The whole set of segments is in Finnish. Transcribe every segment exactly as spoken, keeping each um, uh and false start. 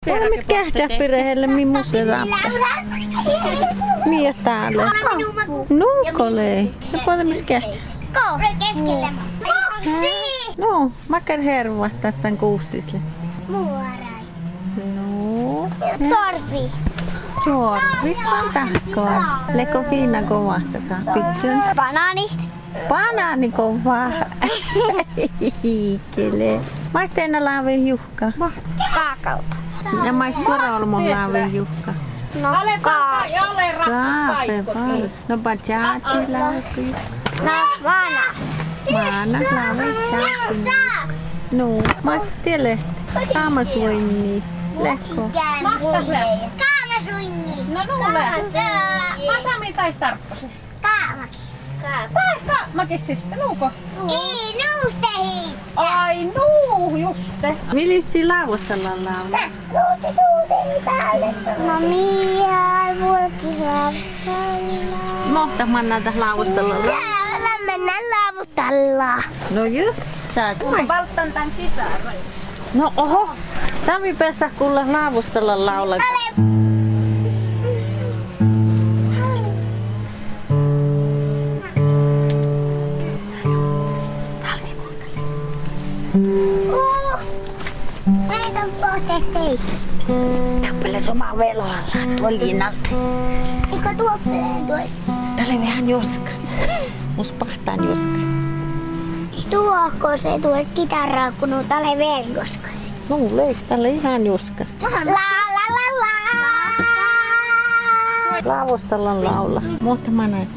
Olemis kähtsäppirehelle mimmusera. Mie täällä. Nuukolei. Ja olemis kähtsä. Koure keskelle. Boksi! No, makar herva tästä kuussisle. Muorai. No. Torvi. Jorvis vaan tahkoa. Leko fiina kovahta saa pitchun. Banaani. Banaani kovaa. Hiikele. Maitteena laavin juhka. Kaakalta. Ja maistua olmon laavin juhka. No kaa. Kaape vai. No bajaji laavin. No vana. Maana laavin bajaji. No, Mattele. Kaamasuinni. Lekko. Kaamasuinni. No nuule. Masami tai tarpposi. Kaamaki. Tai kaammakisista, nuuko? Ei nuutehi. Ai nuu, juste. Viljusti lauvostellaan laulu. Luuti tuutehi päälle. No miä vulkisia. Mohta mannalta lauvostella. Täällä mennään laavutalla. No just tää. Mä valttan tän kitaran. No oho. Tami päässä kuulla laavostella laulaa. Uh, näitä on pohteet teihin. Tappele somaa veloalla tuolla linnalta. Eikö tuoppeleen tuo? Tälle vähän joska. Mus pahtaan joska. Tuohko se tuo kitaraa, kun on tälle velgoskasi? No leik tälle ihan joskasta. La la la la. Laavostellaan laula. Mutta mä näin.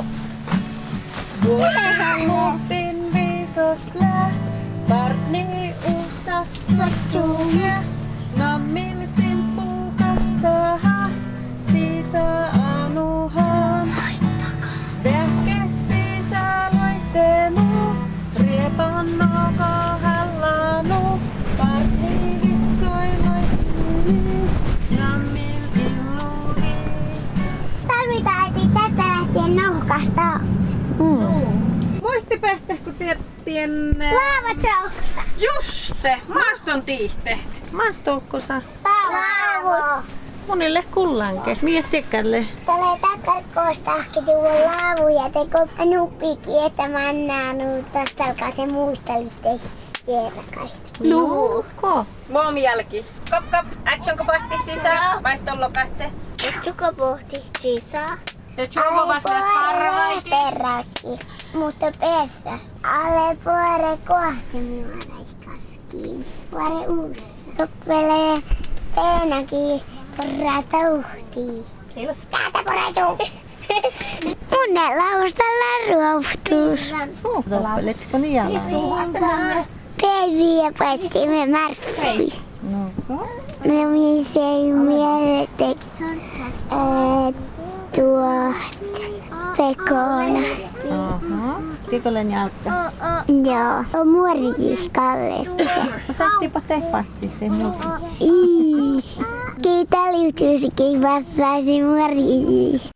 Muhtin viisos lää, partni usas matsuja. Nammin simppu katsaha, sisä anuhan. Tehke sisä loittenu, riepan noko hallanu. Partni vissoi loitteni, nammin illuni. Tarvitaan äiti tästä lähtien nauhkasta. Muistipehte, kun tiedettiin... Laavat sauksassa. Juste, maaston tiihteet. Maastoukkosa. Laavu. Monille kullanke. Miettikälle. Tällä takarkoostahki tuo laavu ja teko nuppikin, että mä annaan tästä alkaa se muisteliste siellä kai. Luukko. Muom jälki. Kop kop, ätsonko pahti sisään? Vaihtoon lopähte. Etsuko pohti sisään? Ja tjuvo vastas karvaiti. Peräki, mutta pessas. Ale puore kohti nuoraiskaskiin. Puore uusi. Toppelee peenakin porraata uhtii. Täältä poretuu. Munne laustalla ruohtuus. Toppeletsiko niin jalan? Päivi ja paistimme marffi. No. No missä ei mieletä tuot pekona. Aha. Kikolen jalka. Joo, muorikin kalletta. Saattiinpa te passi. Ii. Keitä liutuisikin vastaisi muoriin.